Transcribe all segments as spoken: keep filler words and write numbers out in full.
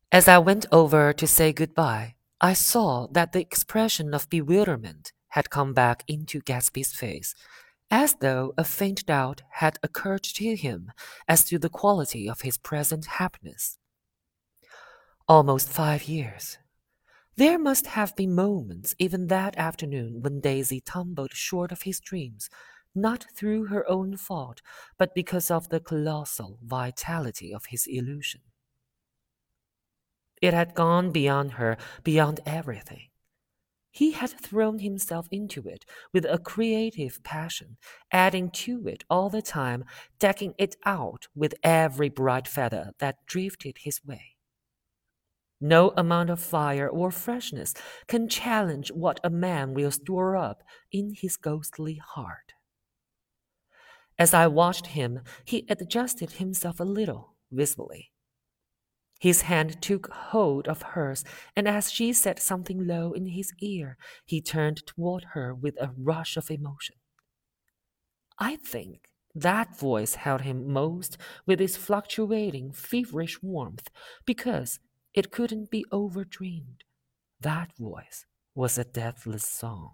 As I went over to say goodbye, I saw that the expression of bewilderment had come back into Gatsby's face, as though a faint doubt had occurred to him as to the quality of his present happiness. Almost five years. There must have been moments even that afternoon when Daisy tumbled short of his dreams, not through her own fault, but because of the colossal vitality of his illusion. It had gone beyond her, beyond everything. He had thrown himself into it with a creative passion, adding to it all the time, decking it out with every bright feather that drifted his way. No amount of fire or freshness can challenge what a man will store up in his ghostly heart. As I watched him, he adjusted himself a little, visibly. His hand took hold of hers, and as she said something low in his ear, he turned toward her with a rush of emotion. I think that voice held him most with its fluctuating, feverish warmth, because it couldn't be overdreamed. That voice was a deathless song.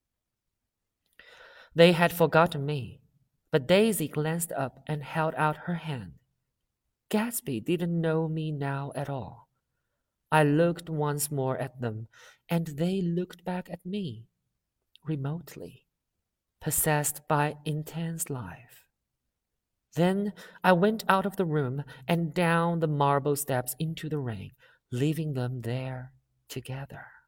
They had forgotten me, but Daisy glanced up and held out her hand. Gatsby didn't know me now at all. I looked once more at them, and they looked back at me, remotely, possessed by intense life. Then I went out of the room and down the marble steps into the rain, leaving them there together.